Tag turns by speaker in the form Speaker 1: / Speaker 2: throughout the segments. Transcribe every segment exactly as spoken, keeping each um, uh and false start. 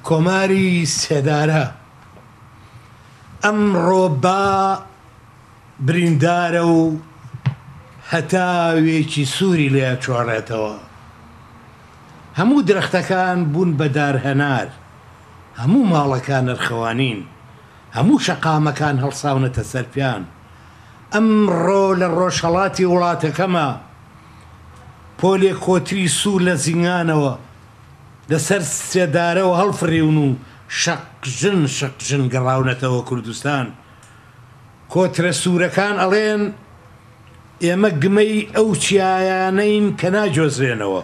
Speaker 1: کۆماری سێدارە ئەمڕۆ با بریندارە و هەتاوێکی سووری لێ چۆڕێتەوە. هەموو درەختەکان بوون بە دارهەنار، هەموو ماڵەکان نرخەوانین، هەموو شەقامەکان هەڵساونەتە سەرپیان. ئەمڕۆ لە ڕۆژهەڵاتی وڵاتەکەمە پۆلێک کۆتری سوور لە زیngانەوە لەسەر سێدارەوە هەڵفڕیون و شەقژن شەقژن گەڕاونەتەوە کوردستان. کۆترە سوورەکان ئەڵێن ئێمە گمەی ئەو چیایانەین کە ناجۆزرێنەوە،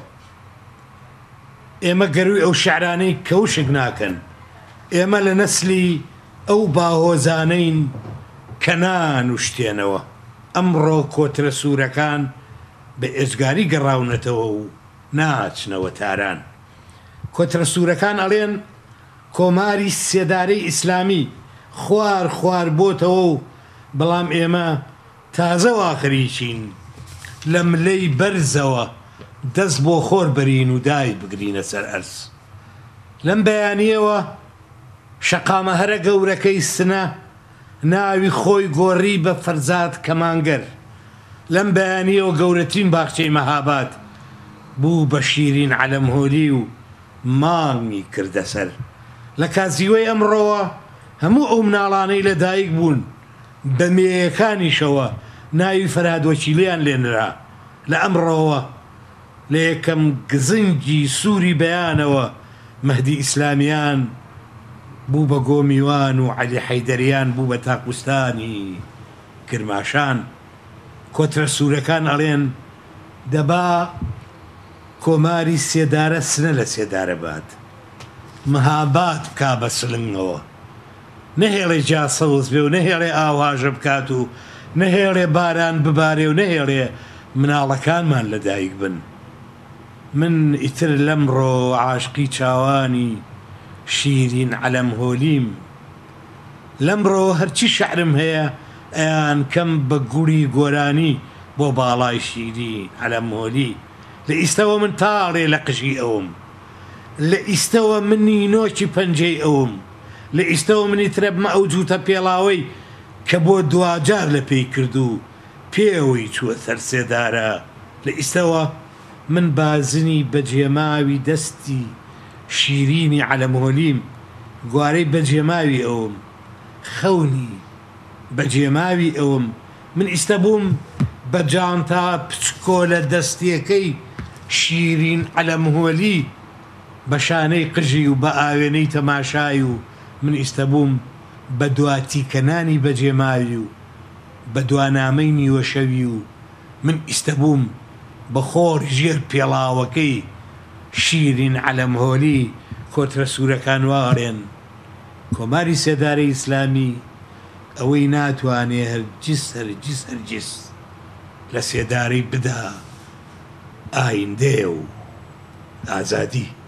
Speaker 1: ئێمە گەروی ئەو شیعرانەی کەوشک ناکەن، ئێمە لە نەسلی ئەو باهۆزانەین کە نانوشتێنەوە. ئەمڕۆ کۆترە سوورەکان بە ئێجگاری گەڕاونەتەوە و ناچنەوە تاران. کۆترە سوورەکان ئەڵێن کۆماری سێدارەی ئیسلامی خوار خوار بۆتەوە و بەڵام ئێمە تازە واخریچین لە ملەی بەرزەوە دەست بۆ خۆر بەرین و دای بگرینە سەر ئەرز. لەم بەیانیەوە شەقامە هەرە گەورەکەی سنە ناوی خۆی گۆڕی بە فەرزاد کەمانگەر. لەم بەیانیەوە گەورەترین باخچەی مەهاباد بوو بە شیرین عەلەمهۆلی و مانگی کردە سەر. لە کاتزیوەی ئەمڕۆوە هەموو ئەو مناڵانەی لە دایک بوون بە مێیەکانیشەوە ناوی فەرهادوەکیلیان لێنرا. لە ئەمڕۆوە لە یەکەم گزنگی سووری بەیانەوە مەهدی ئیسلامیان بوو بە گۆمیوان و عەلی حەیدەریان بوو بە تاقوستانی کرماشان. کۆترە سوورەکان ئەڵێن دەبا کۆماری سێدارە سنە لە سێدارە بات، مەهاباد بکا بە سلنگەوە، نەهێڵێ جاسەوز بێ و نەهێڵێ ئاواژە بکات و نەهێڵێ باران ببارێ و نەهێڵێ مناڵەکانمان لە دایک بن. من ئیتر لەمڕۆ عاشقی چاوانی شیرین عەلەمهۆلیم، لەمڕۆ هەرچی شەعرم هەیە ئەیان کەم بە گوڵی گۆرانی بۆ باڵای شیرین عەلەمهۆلی. لە ئیستەوە من تاڵێ لە قژی ئەوم، لە ئیستەوە منی نۆکی پەنجەی ئەوم، لە ئیستەوە منی ترەبمە ئەو جووتە پێڵاوەی کە بۆ دوجار لە پێی کرد و پێوەی چووە سەر سێدارە. لە ئیستەوە من بازنی بەجێماوی دەستی شیرینی عەلەمهۆلیم، گوارەی بەجێماوی ئەوم، خەونی بەجێماوی ئەوم. من ئیستە بووم بە جانتا پچکۆ لە دەستیەکەی شیرین عەلەمهۆلی بە شانەی قژی و بە ئاوێنەی تەماشای و من ئیستە بووم بە دواتیکەنانی بەجێماوی و بە دوانامەی نیوەشەوی و من ئیستە بووم بە خۆر ژێر پێڵاوەکەی شیرین عەلەمهۆلی. کۆترە سوورەکان واڵێن کۆماری سێدارەی ئیسلامی ئەوەی ناتوانێ هەرگیز هەرگیز هەرگیز لە سێدارەی بدا ئایندێ و ئازادی.